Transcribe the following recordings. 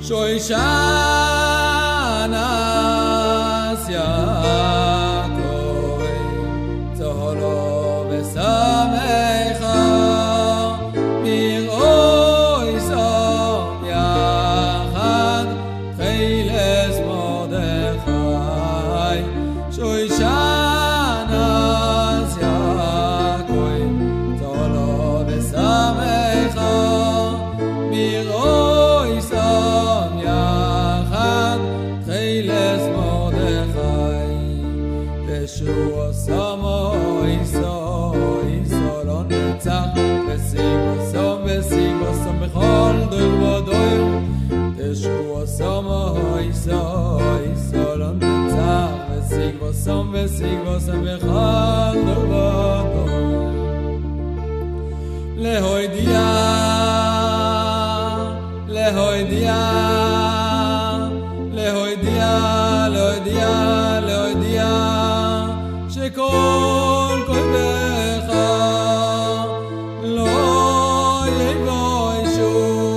Shoishanas Yaakov Tzaholo v'samecha Miroi som yachad Tchiles Mordechai Shoishanas Yaakov Tzaholo v'samecha Miroi som yachad Tchiles Mordechai Yeshua Samo Iso lo netzach V'sigvo som b'chol dor v'doir Yeshua Samo Iso lo netzach V'sigvo som b'chol dor v'doir Lehoidia שכל כואבך לא יבושו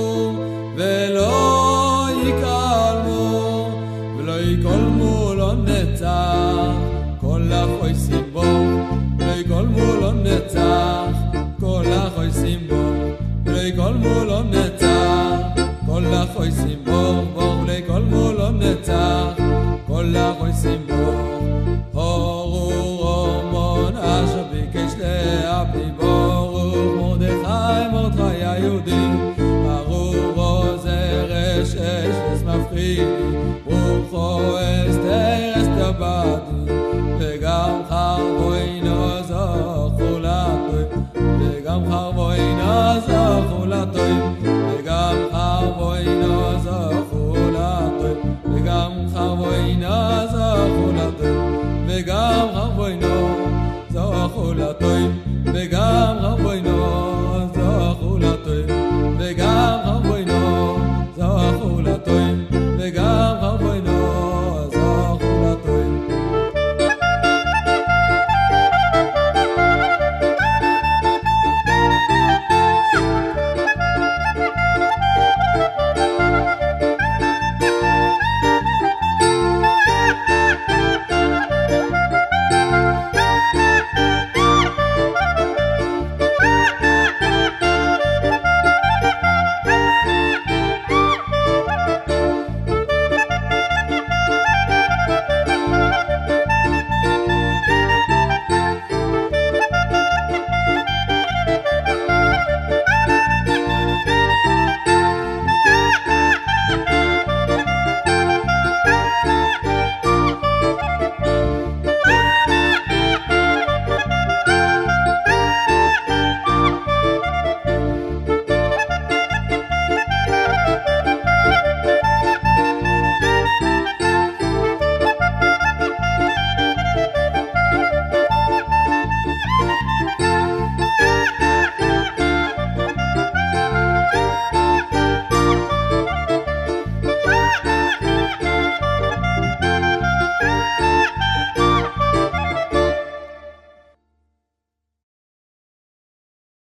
ולא יקלמו ולא יקולמו לנצח כל החויסים בו ולא יקולמו לנצח כל החויסים בו ולא יקולמו לנצח כל החויסים בו ולא יקולמו לנצח כל החויסים בו אשר ביקש להביא ברוך מרדכי היהודי ברוך עוזר אש מפחיד ברוכו אסתר אסתבדי וגם חרבו אינו זכו לטוב וגם חרבו אינו זכו לטוב וגם חרבו אינו זכו לטוב וגם חרבו אינו